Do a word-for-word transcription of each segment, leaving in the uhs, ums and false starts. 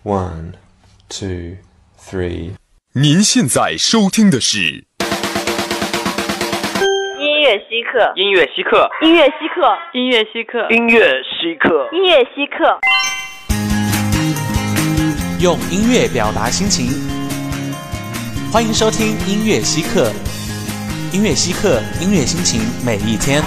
One, two, three。 您现在收听的是音乐稀客， 音乐稀客， 音乐稀客， 音乐稀客， 音乐稀客， 音乐稀客。 用音乐表达心情，欢迎收听音乐稀客。音乐稀客，音乐心情每一天。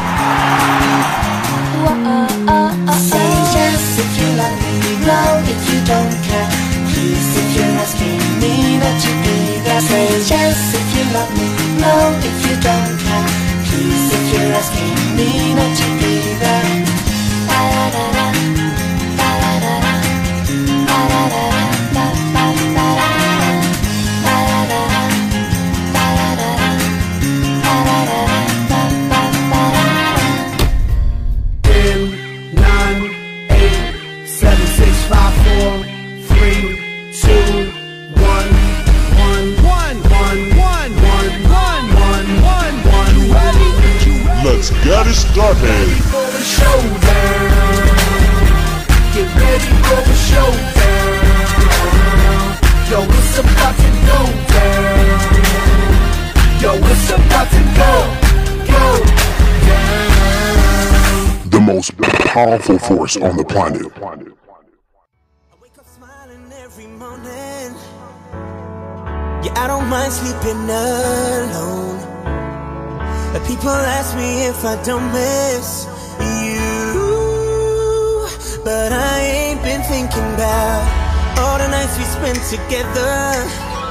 Say yes if you love me, no if you don't care. Please if you're asking me not to be there. Say yes if you love me, no if you don't care. Please if you're asking me not to be there. Da da da da, da da da da, da da da da, da da da da, da da da da, da da da da, da da da da, da da da. ten, nine, eight, seven, six, five, four, three, two, one, one, one, one, one, one, one, one, one, one. Ready? Let's get it started. Get ready for the showdown. Get ready for the showdown. Yo, it's about to go down. Yo, it's about to go, go down. The most powerful force on the planet. Yeah, I don't mind sleeping alone. But people ask me if I don't miss you. But I ain't been thinking about all the nights we spent together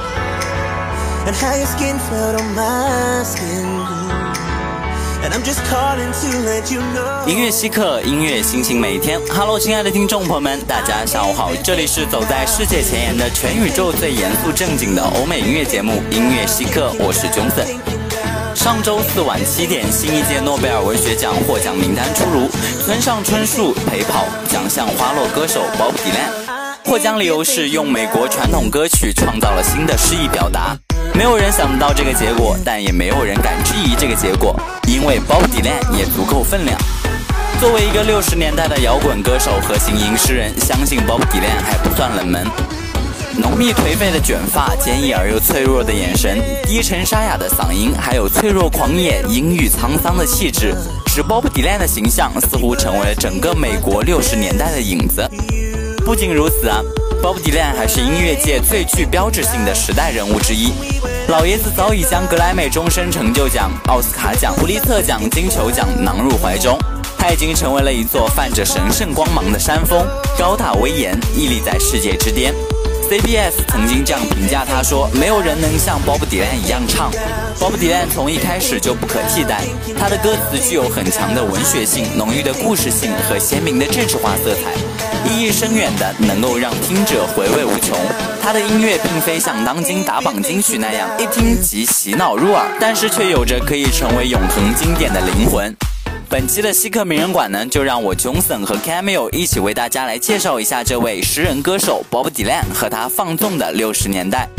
and how your skin felt on my skin. And I'm just calling to let you know. 音乐稀客，音乐心情每一天。Hello， 亲爱的听众朋友们，大家下午好，这里是走在世界前沿的全宇宙最严肃正经的欧美音乐节目《音乐稀客》，我是 Johnson。上周四晚七点，新一届诺贝尔文学奖获奖名单出炉，村上春树陪跑奖项花落歌手 Bob Dylan。获奖理由是用美国传统歌曲创造了新的诗意表达。没有人想不到这个结果，但也没有人敢质疑这个结果，因为 Bob Dylan 也足够分量。作为一个六十年代的摇滚歌手和行吟诗人，相信 Bob Dylan 还不算冷门。浓密颓废的卷发，坚毅而又脆弱的眼神，低沉沙哑的嗓音，还有脆弱狂野、阴郁沧桑的气质，使 Bob Dylan 的形象似乎成为了整个美国六十年代的影子。不仅如此啊，Bob Dylan 还是音乐界最具标志性的时代人物之一。老爷子早已将格莱美终身成就奖、奥斯卡奖、普利策奖、金球奖囊入怀中。他已经成为了一座泛着神圣光芒的山峰，高大威严，屹立在世界之巅。C B S 曾经这样评价他说：“没有人能像 Bob Dylan 一样唱。Bob Dylan 从一开始就不可替代，他的歌词具有很强的文学性、浓郁的故事性和鲜明的政治化色彩，意义深远的能够让听者回味无穷。他的音乐并非像当今打榜金曲那样一听即洗脑入耳，但是却有着可以成为永恒经典的灵魂。”本期的稀客名人馆呢，就让我 Johnson 和 Camille 一起为大家来介绍一下这位诗人歌手 Bob Dylan 和他放纵的六十年代。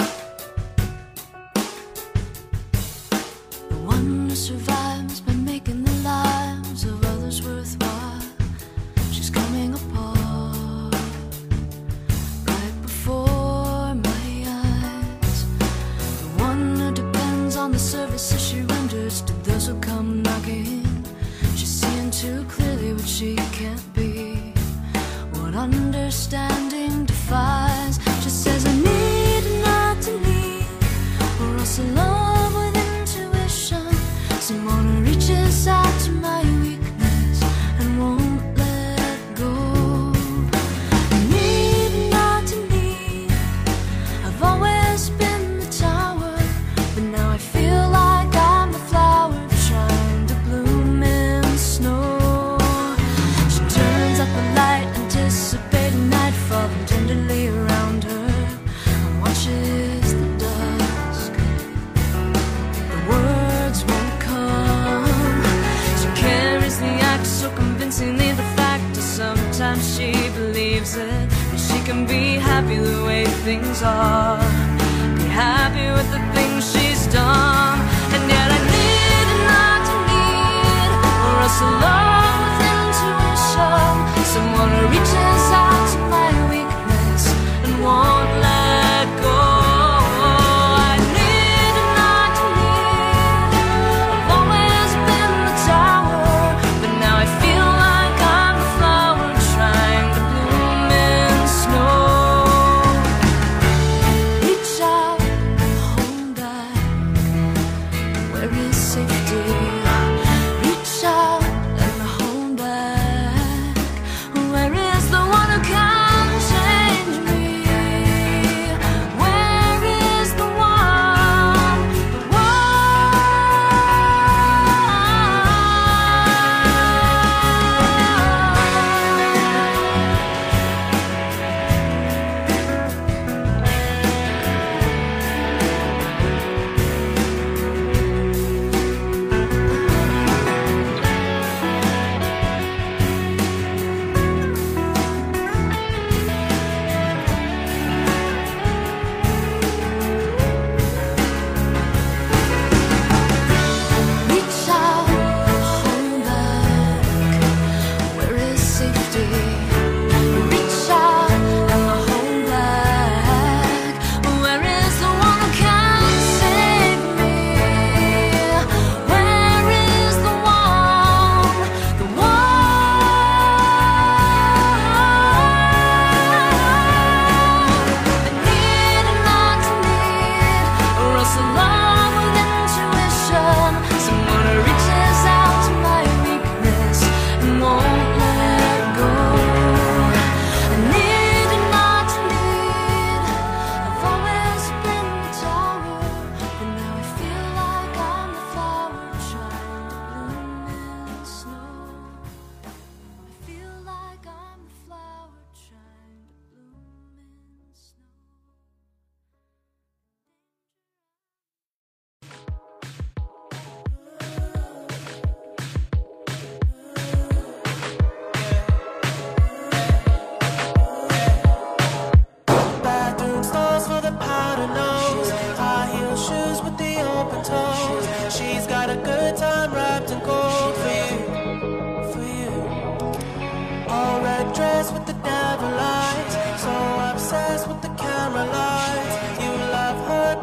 Understanding defies, just says I need not to need, or else a love with intuition, someone who reaches out to my weakness and won't let go. I need not to need, I've always been the tower, but now I feel like I'm the flower trying to bloom in the snow. She turns up the light, anticipating nightfall, and tenderly around her and watches the dusk. The words won't come. She carries the axe so convincingly, the fact is sometimes she believes it, that she can be happy the way things are, be happy with the things she's done. And yet I need not to need, or else alone with intuition, someone who reaches out to my weakness and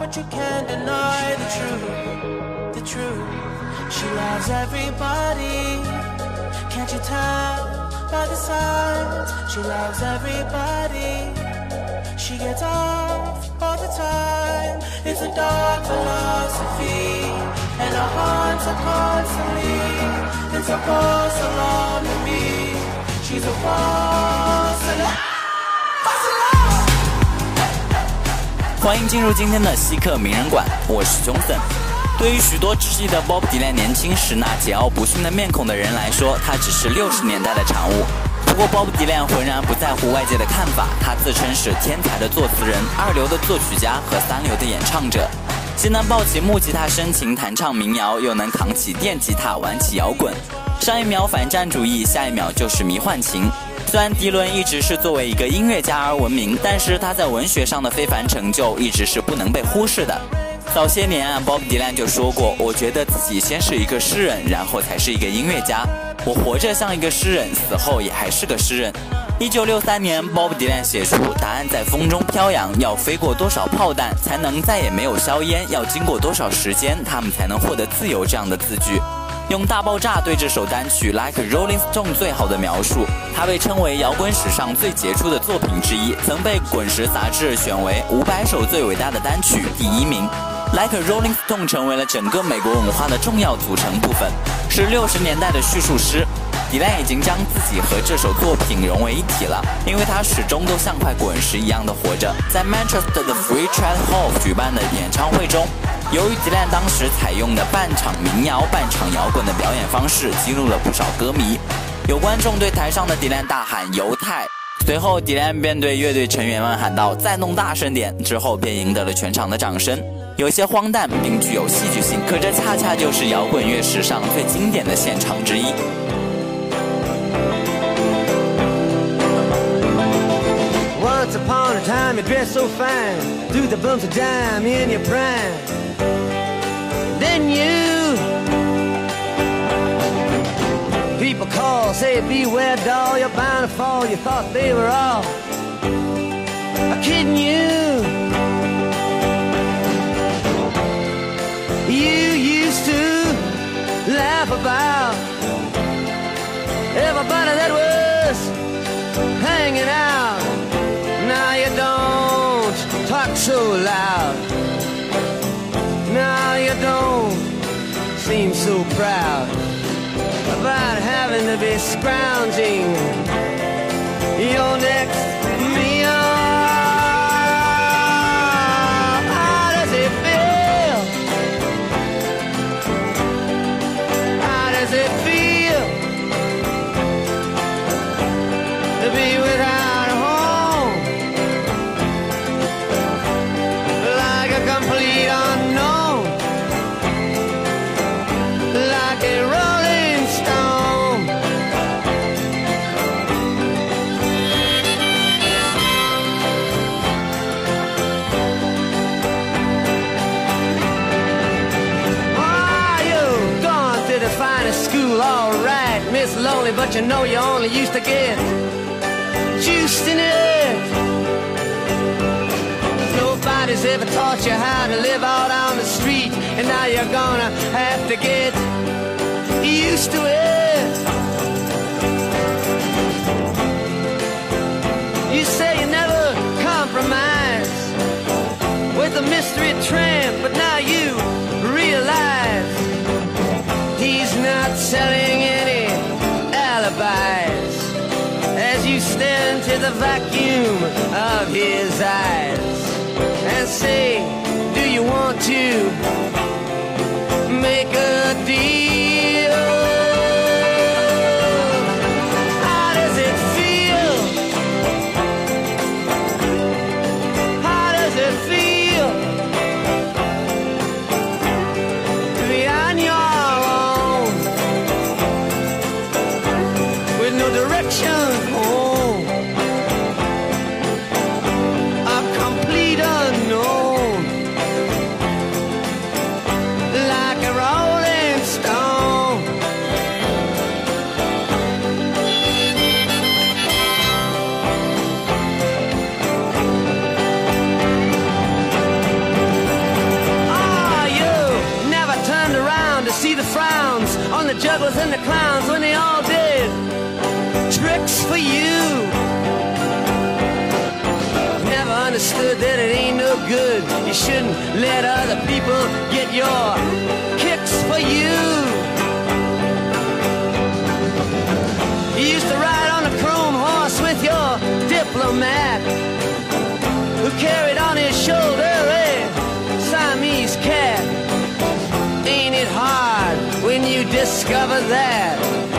but you can't deny the truth, the truth. She loves everybody, can't you tell by the signs? She loves everybody, she gets off all the time. It's a dark philosophy, and our hearts are constantly in circles surrounding me. She's a false alarm. 欢迎进入今天的稀客名人馆，我是 Johnson。对于许多只记得 Bob Dylan 年轻时那桀骜不驯的面孔的人来说，他只是六十年代的产物。不过 Bob Dylan 浑然不在乎外界的看法，他自称是天才的作词人、二流的作曲家和三流的演唱者，既能抱起木吉他深情弹唱民谣，又能扛起电吉他玩起摇滚。上一秒反战主义，下一秒就是迷幻情。虽然迪伦一直是作为一个音乐家而闻名，但是他在文学上的非凡成就一直是不能被忽视的。早些年啊 Bob Dylan 就说过，我觉得自己先是一个诗人，然后才是一个音乐家。我活着像一个诗人，死后也还是个诗人。一九六三年 Bob Dylan 写出答案在风中飘扬，要飞过多少炮弹才能再也没有硝烟，要经过多少时间他们才能获得自由这样的字句，用大爆炸对这首单曲 Like a Rolling Stone 最好的描述。它被称为摇滚史上最杰出的作品之一，曾被滚石杂志选为五百首最伟大的单曲第一名。Like a Rolling Stone 成为了整个美国文化的重要组成部分，是六十年代的叙述诗。迪兰已经将自己和这首作品融为一体了，因为他始终都像块滚石一样的活着。在 Manchester 的 Free Trade Hall 举办的演唱会中，由于迪兰当时采用的半场民谣、半场摇滚的表演方式，激怒了不少歌迷。有观众对台上的迪兰大喊犹太，随后迪兰便对乐队成员们喊道再弄大声点，之后便赢得了全场的掌声。有些荒诞并具有戏剧性，可这恰恰就是摇滚乐史上最经典的现场之一。 Once upon a time you dressed so fine, threw the bumps of dime in your prime. Then you people call, say beware doll, you're bound to fall. You thought they were all kidding you. You used to laugh about everybody that was hanging out. Now you don't talk so loud. Now you don't seem so proud about having to be scrounging your next meal. How does it feel? How does it feel to be without a home? Like a complete unknown, like a rolling stone. Oh, you've gone to the finest school, all right, Miss Lonely, but you know you only used to get juiced in it. Nobody's ever taught you how to live out on the street, and now you're gonna have to get used to it. You say you never compromise with a mystery tramp, but now you realize he's not selling any alibis as you stare into the vacuum of his eyes and say, do you want to make a deal? How does it feel? How does it feel to be on your own with no direction home? A complete unknown, like a rolling stone. jugglers and the clowns when they all did tricks for you. Never understood that it ain't no good. You shouldn't let other people get your kicks for you. You used to ride on a chrome horse with your diplomat, who carried on his shoulder a Siamese cat. Ain't it hard when you discover that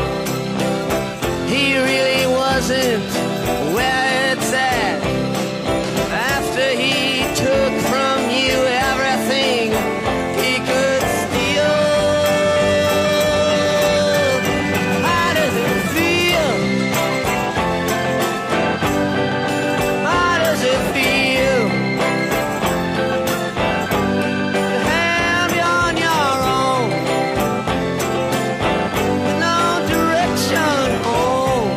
he really wasn't where it's at? After he took from you everything he could steal. How does it feel? How does it feel to have you on your own with no direction home,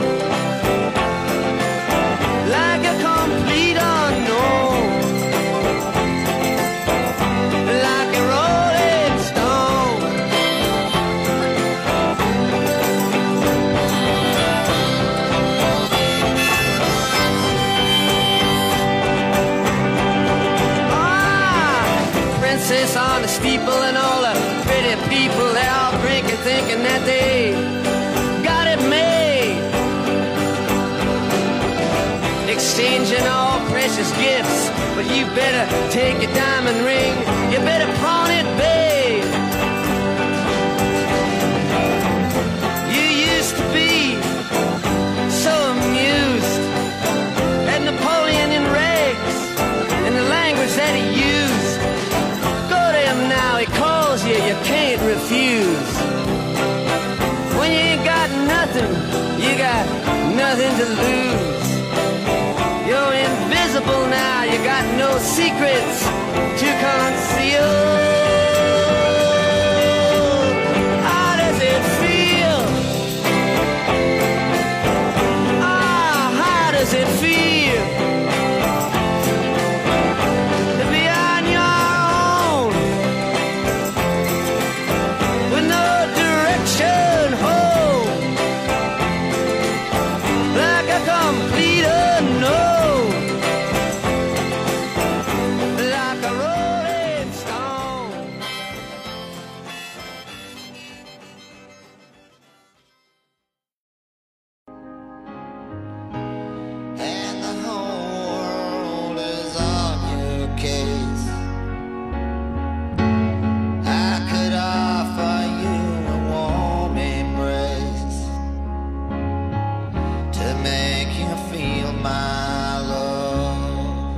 like a complete unknown, like a rolling stone? Ah, princess on the steeple and all the pretty people, they all drinking, thinking that they got it made, exchanging all precious gifts. But you better take your diamond ring, you better pawn it, babe. You used to be so amused at Napoleon in rags and the language that he used. Go to him now, he calls you, you can't refuse. When you ain't got nothing, you got nothing to lose. You're invisible now, you got no secrets to conceal. How does it feel? Ah, how does it feel to be on your own with no direction home, like a complete unknown, like a rolling stone? And the whole world is on your case. I could offer you a warm embrace to make you feel my love.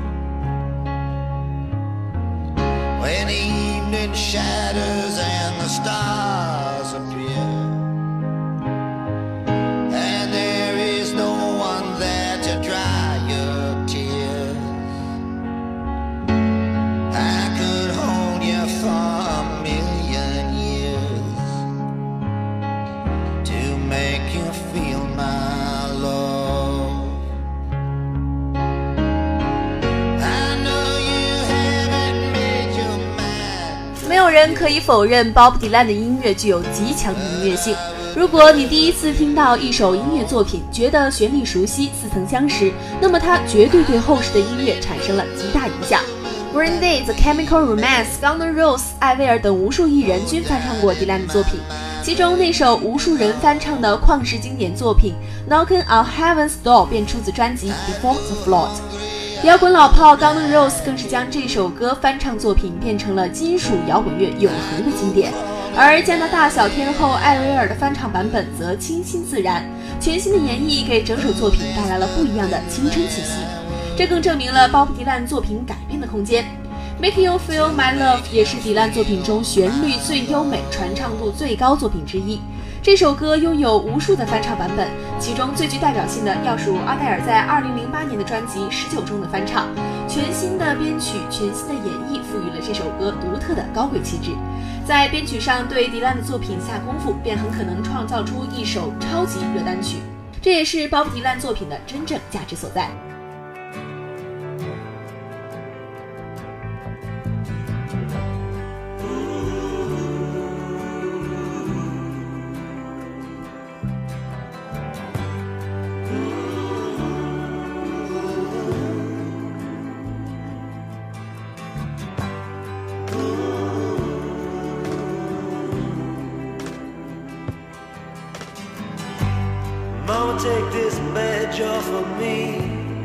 When the evening shadows and the stars appear, and there is no one there to dry your tears, I could hold you for a million years to make you feel my love. I know you haven't made your mind. 没有人可以否认 Bob Dylan 的音乐具有极强的音乐性。如果你第一次听到一首音乐作品，觉得旋律熟悉、似曾相识，那么它绝对对后世的音乐产生了极大影响。Green Day、The Chemical Romance、Guns N' Roses、艾薇儿等无数艺人均翻唱过迪兰的作品，其中那首无数人翻唱的旷世经典作品《Knockin' on Heaven's Door》便出自专辑《Before the Flood》。摇滚老炮 Guns N' Roses 更是将这首歌翻唱作品变成了金属摇滚乐永恒的经典，而加拿大小天后艾薇儿的翻唱版本则清新自然，全新的演绎给整首作品带来了不一样的青春气息，这更证明了鲍勃迪兰作品改编的空间。Make You Feel My Love 也是迪兰作品中旋律最优美、传唱度最高作品之一。这首歌拥有无数的翻唱版本，其中最具代表性的要数阿黛尔在二零零八年的专辑《十九》中的翻唱。全新的编曲、全新的演绎赋予了这首歌独特的高贵气质。在编曲上对迪兰的作品下功夫，便很可能创造出一首超级热单曲，这也是鲍勃迪兰作品的真正价值所在。 take this badge off of me.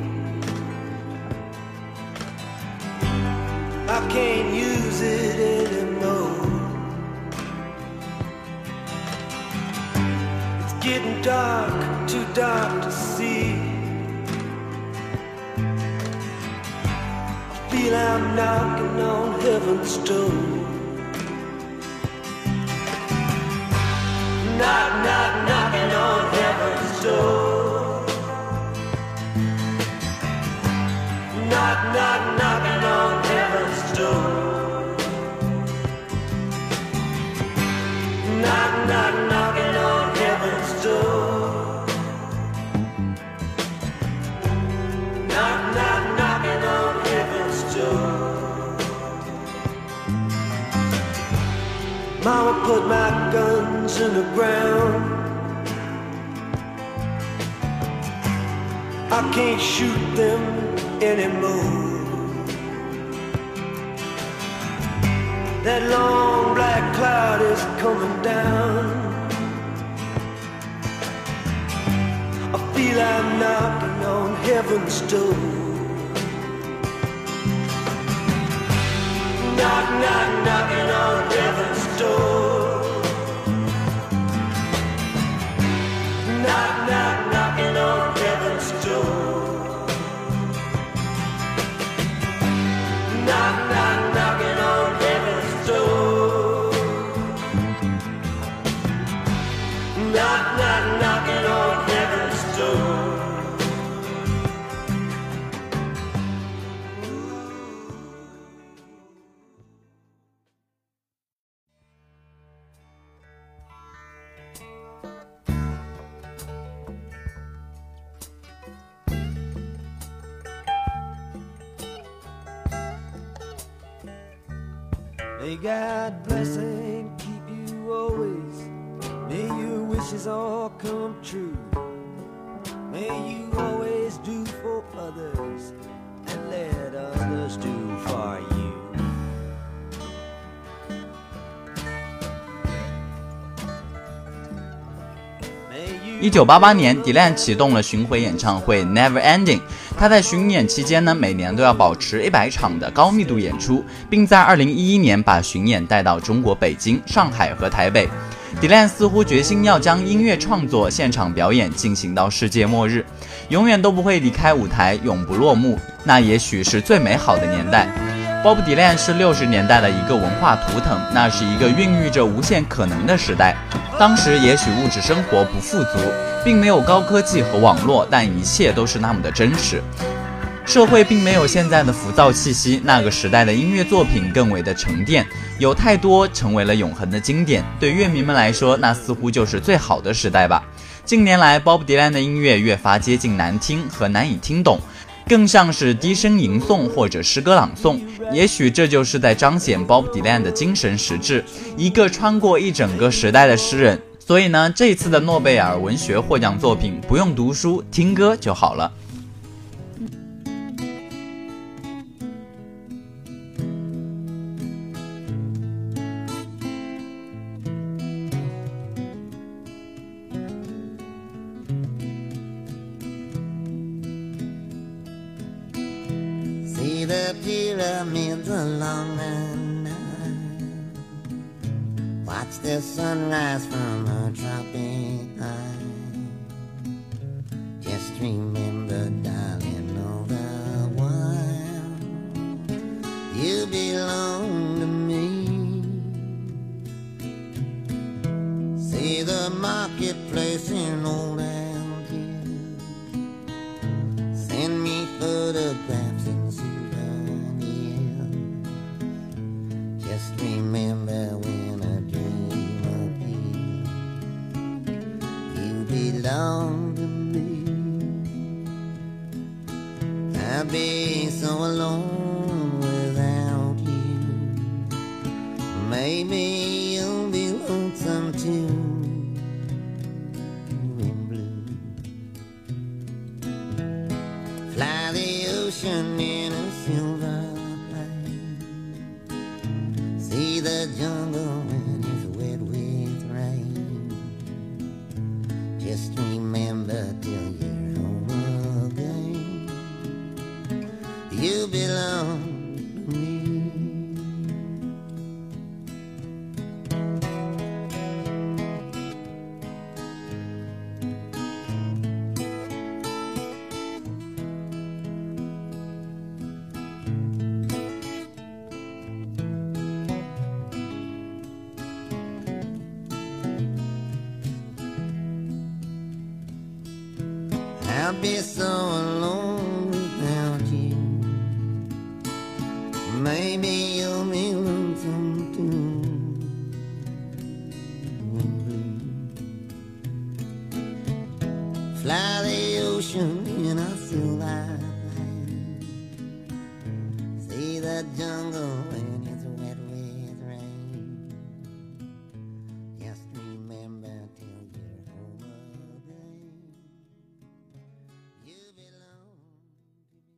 I can't use it anymore. It's getting dark, too dark to see. I feel I'm knocking on heaven's door. Knock, knock, knocking on heaven's door. Knock, knock, knocking on heaven's door. Knock, knock, knocking on heaven's door. Knock, knock, knocking on heaven's door. Mama put my guns in the ground. I can't shoot them anymore. That long black cloud is coming down. I feel I'm knocking on heaven's door. Knock, knock, knocking on heaven's door. Knock, knock, knocking on heaven's door. Knock, knock, knocking on heaven's door. Knock, knock, knocking on heaven's door. May God bless and keep you always. May your wishes all come true. May you always do for others and let others do for you. 一九八八年 Dylan 启动了巡回演唱会 Never Ending。他在巡演期间呢，每年都要保持一百场的高密度演出，并在二零一一年把巡演带到中国北京、上海和台北。Dylan 似乎决心要将音乐创作、现场表演进行到世界末日，永远都不会离开舞台，永不落幕。那也许是最美好的年代。Bob Dylan 是六十年代的一个文化图腾，那是一个孕育着无限可能的时代。当时也许物质生活不富足，并没有高科技和网络，但一切都是那么的真实。社会并没有现在的浮躁气息，那个时代的音乐作品更为的沉淀，有太多成为了永恒的经典。对乐迷们来说，那似乎就是最好的时代吧。近年来 Bob Dylan 的音乐越发接近难听和难以听懂，更像是低声吟诵或者诗歌朗诵，也许这就是在彰显 Bob Dylan 的精神实质，一个穿过一整个时代的诗人。所以呢，这次的诺贝尔文学获奖作品不用读书，听歌就好了。 See the pyramids along the Nile. Watch the sunrise from a tropic high. Just remember, darling, all the while you belong to me. See the marketplace in old Algiers. Send me photographs and souvenirs. Just remember when I dream of you, you belong to me. I'd be so alone without you. Maybe you'll be lonesome too. Fly the ocean in a silver plane. See the jungle when it's wet with rain. Just remember till belong to me. I'll be so alone without you. Maybe you'll be lonesome too. Fly the ocean in a silver plane. See the jungle when it's wet with rain. Just remember till you're home again. You belong to me.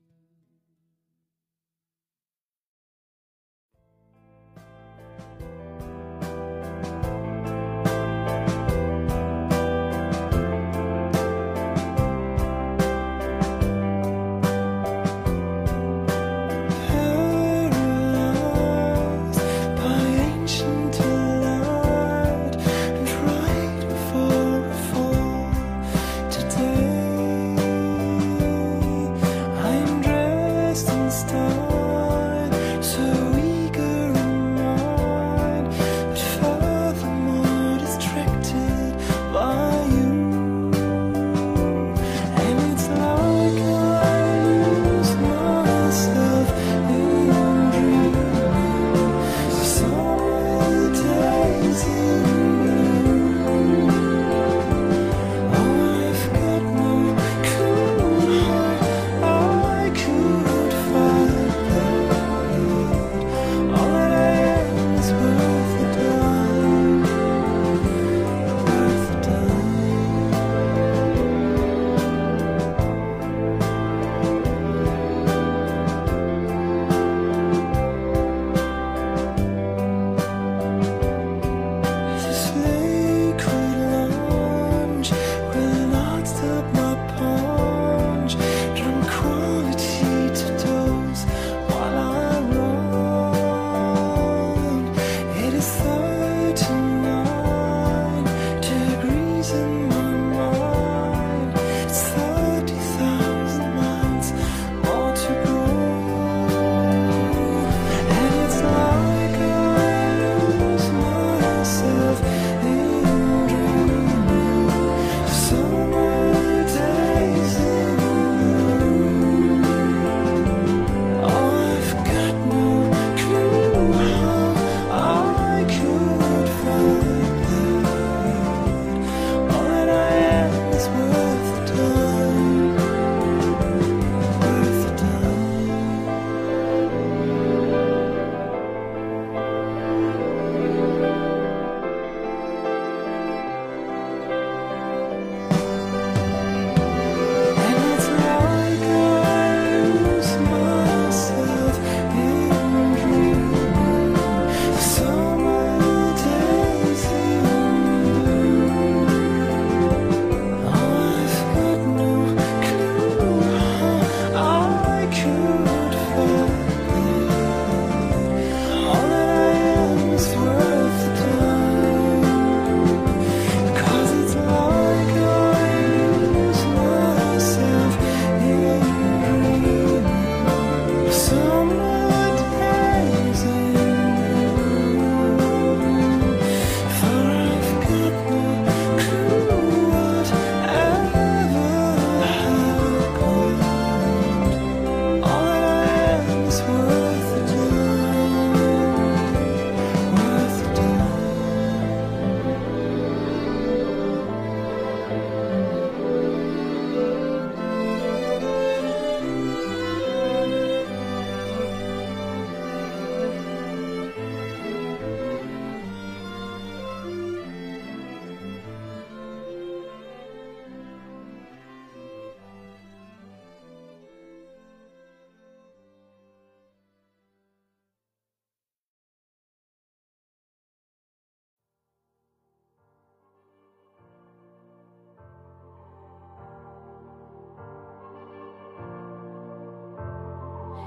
'Cause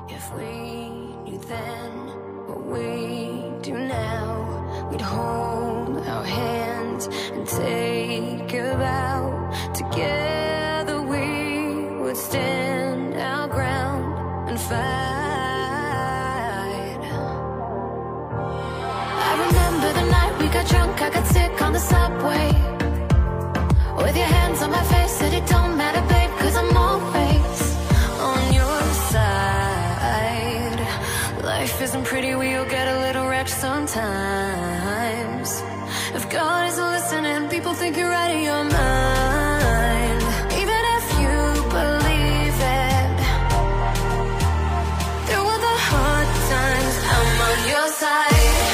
If we knew then what we do now, we'd hold our hands and take a vow. Together we would stand our ground and fight. I remember the night we got drunk, I got sick on the subway. With your hands on my face, said it don't matter, babe, cause I'm always on your side. Life isn't pretty, we'll get a little wrecked sometimes. If God isn't listening, people think you're out of your mind. Even if you believe it, through all the hard times, I'm on your side.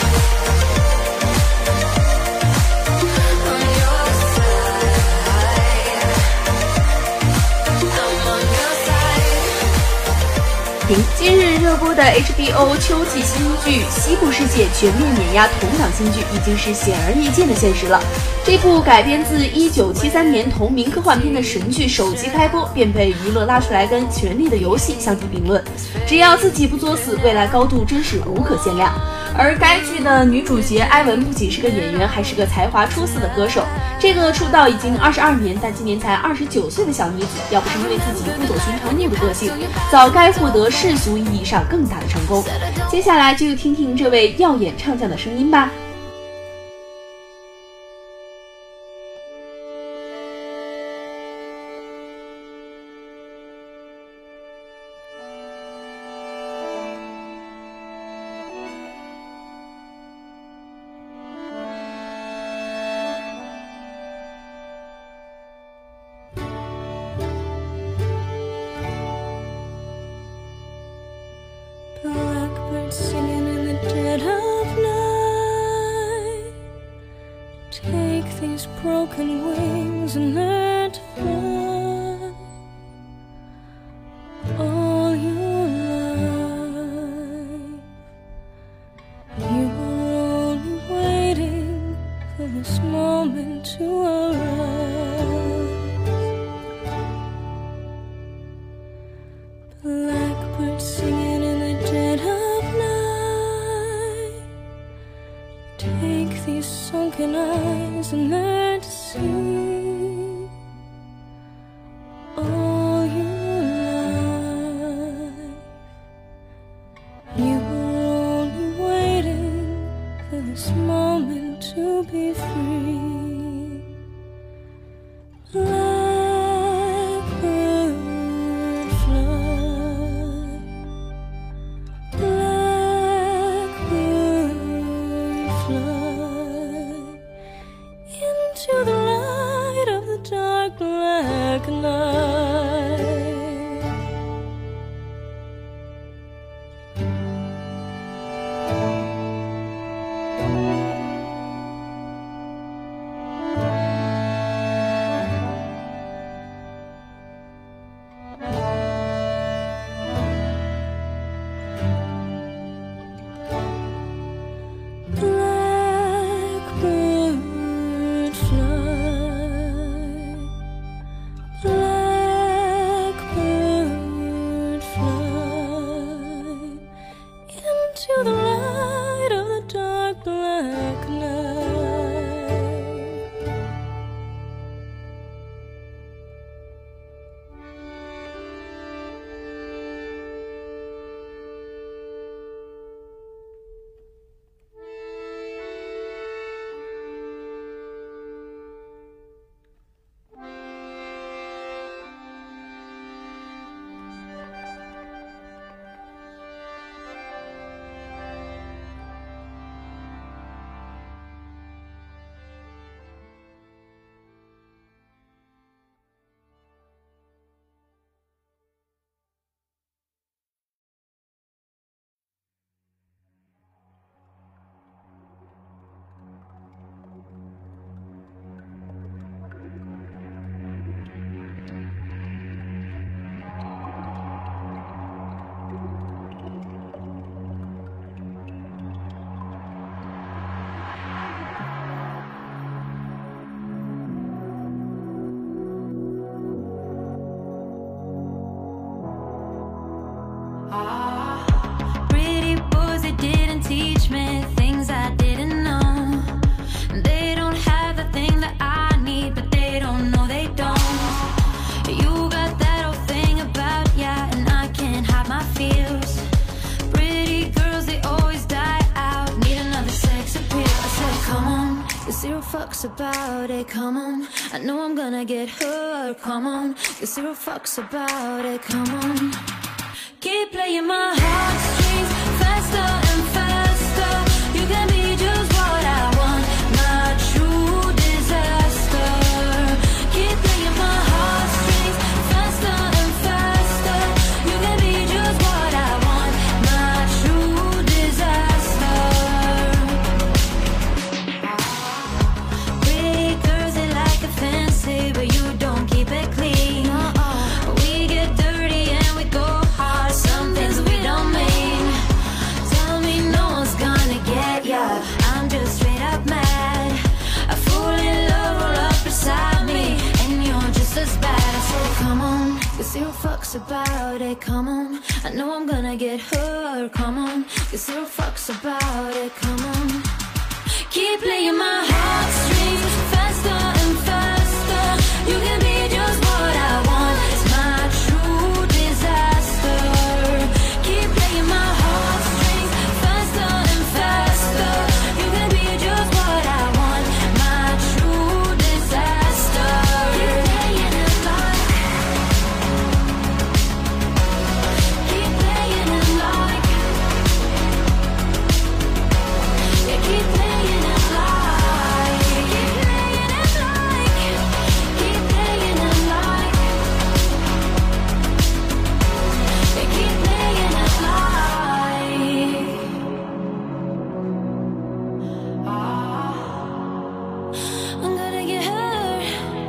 今日热播的 H B O 秋季新剧《西部世界》全面碾压同档新剧，已经是显而易见的现实了。这部改编自一九七三年同名科幻片的神剧，首集开播便被娱乐拉出来跟《权力的游戏》相提并论。只要自己不作死，未来高度真是无可限量。而该剧的女主角埃文不仅是个演员，还是个才华出色的歌手。这个出道已经二十二年，但今年才二十九岁的小女子，要不是因为自己不走寻常路的个性，早该获得世俗意义上更大的成功。接下来就听听这位耀眼唱将的声音吧。 Singing in the dead of night. Take these broken wings and learn to fly. All your life, you were only waiting for this moment to arise. Blackbird singing in the dead of Take these sunken eyes and learn to see. All your life, you were only waiting for this moment to be free. Blackbird fly, blackbird into the light of the dark black night. Blackbird fly, blackbird fly into the light of the dark black night. fucks about it, come on. I know I'm gonna get hurt, come on. Give zero fucks about it, come on. Keep playing my heartstrings faster and faster. You can be just what I want, my true disaster. Keep playing my heartstrings faster and faster. You can be just what I want, my true disaster. Big girls, they like it fancy, but you don't keep it clean. We get dirty and we go hard, some things we don't mean. Tell me no one's gonna get ya, I'm just straight up mad. I fall in love all up beside me, and you're just as bad. So come on, get zero fucks about it, come on. I know I'm gonna get hurt, come on. Get zero fucks about it, come on. Keep playing my heartstrings faster and faster. You can be just what I want, it's my true disaster. Keep playing my heartstrings faster and faster. You can be just what I want, my true disaster. Keep playing it like, keep playing it like, yeah, keep playing it like, keep playing it like, keep playing it like, yeah, keep playing it like. I'm gonna get hurt.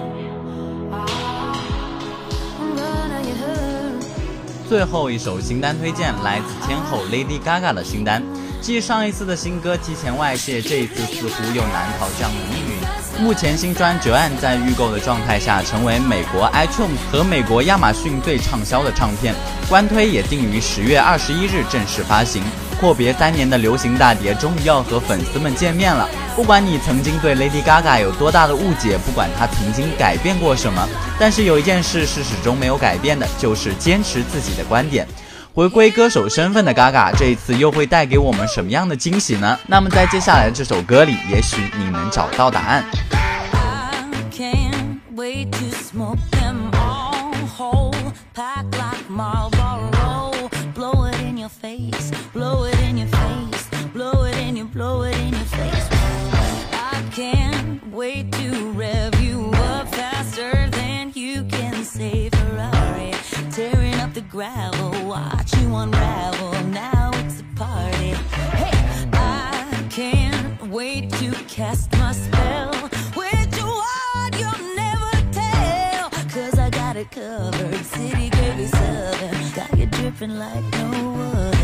I'm gonna get hurt. 最后一首新单推荐来自天后 Lady Gaga 的新单。继上一次的新歌提前外泄，这一次似乎又难逃这样的命运。目前新专 Joanne 在预购的状态下，成为美国 iTunes 和美国亚马逊最畅销的唱片，官推也定于十月二十一日正式发行。阔别三年的流行大碟终于要和粉丝们见面了。不管你曾经对 Lady Gaga 有多大的误解，不管她曾经改变过什么，但是有一件事是始终没有改变的，就是坚持自己的观点。回归歌手身份的 Gaga 这一次又会带给我们什么样的惊喜呢？那么在接下来的这首歌里，也许你能找到答案。 Gravel, watch you unravel, now it's a party. Hey, I can't wait to cast my spell. With you on, you'll never tell, cause I got it covered. City girl is southern, got you dripping like no other.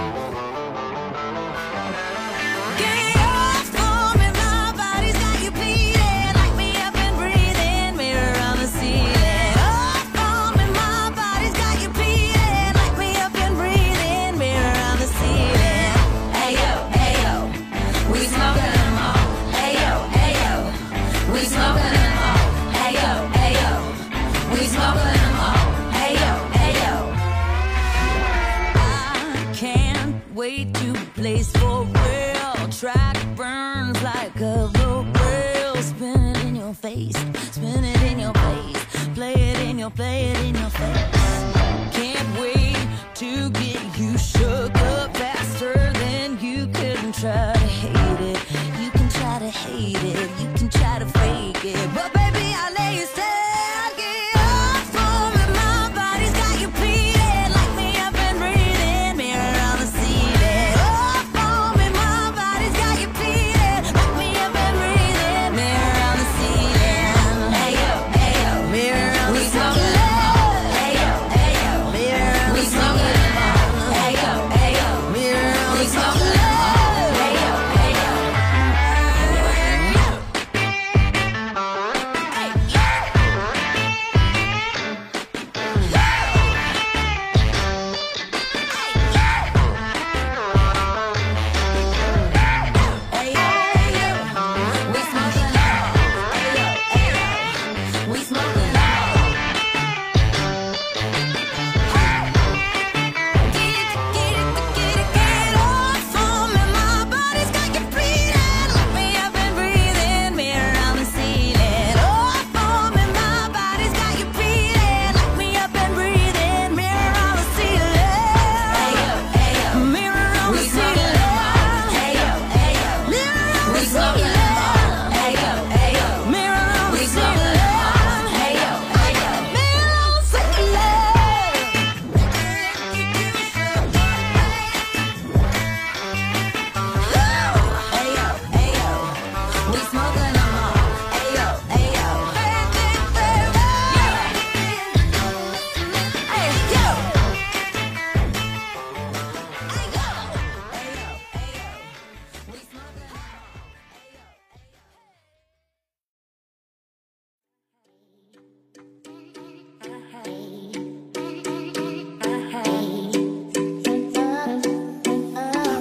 Get off for me, my body's got you bleeding. Light me up and breathing, mirror on the ceiling. Wait to place for real. Track burns like a rope rail. Spin it in your face, spin it in your face. Play it in your, play it in your face. Can't wait to get you shook up faster than you can try to hate it. You can try to hate it, you can try to fake it, but baby I lay you stand. Hey yo,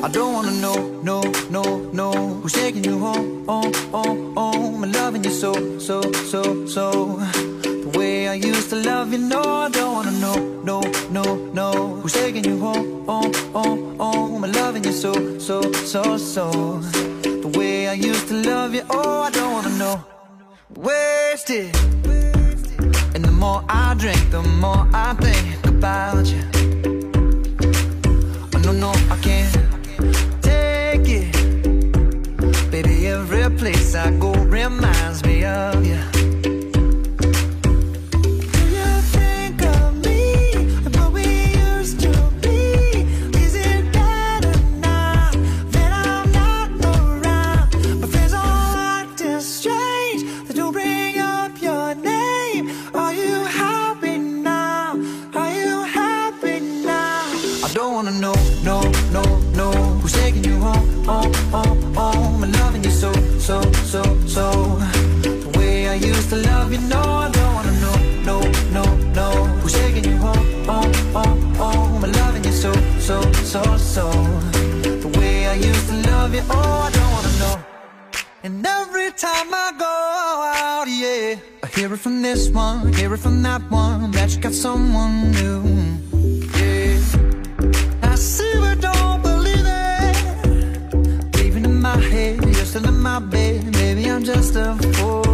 I don't wanna know, no, no, no, who's taking you home, oh, oh, oh, I'm loving you so, so, so, so. The way I used to love you, no, I don't wanna know, no, no, no, who's taking you home, oh, oh, oh, I'm loving you so, so, so, so. The way I used to love you, oh, I don't wanna know. Wasted, and the more I drink, the more I think about you. Oh, no, no, I can't take it. Baby, every place I go reminds me of you. And every time I go out, yeah, I hear it from this one, hear it from that one, that you got someone new, yeah. I see but don't believe it, even in my head, you're still in my bed, maybe I'm just a fool.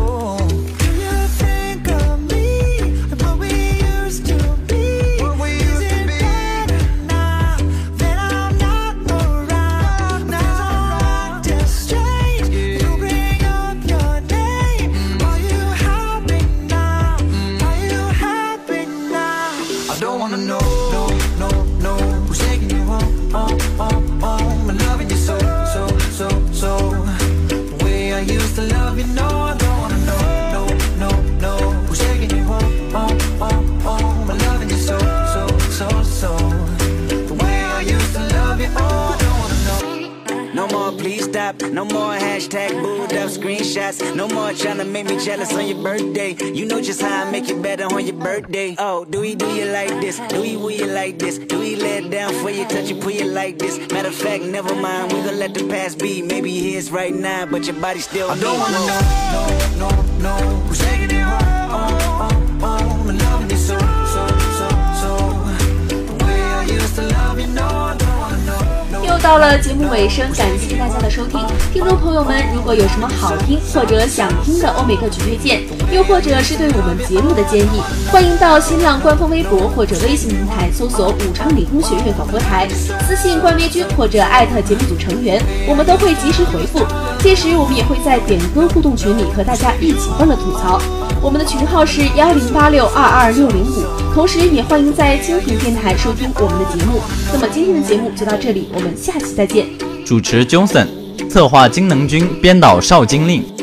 No more hashtag booed up screenshots. No more trying to make me jealous on your birthday. You know just how I make it better on your birthday. Oh, do we do you like this? Do we will you like this? Do we let it down for you, touch you, pull you like this? Matter of fact, never mind, we gon' let the past be. Maybe here's right now, but your body still. I don't wanna know, no, no, no, who's taking it home? Oh, oh, oh, I'm loving you so, so, so, so. The way I used to love you, no, I don't wanna know. 又到了节目尾声，感谢大家的收听。听众朋友们，如果有什么好听或者想听的欧美歌曲推荐，又或者是对我们节目的建议，欢迎到新浪官方微博或者微信平台搜索武昌理工学院广播台，私信冠微君或者艾特节目组成员，我们都会及时回复。届时我们也会在点歌互动群里和大家一起欢乐吐槽。我们的群号是幺零八六二二六零五，同时也欢迎在蜻蜓电台收听我们的节目。那么今天的节目就到这里，我们下期再见。 主持 Johnson， 策划金能君，编导邵金令。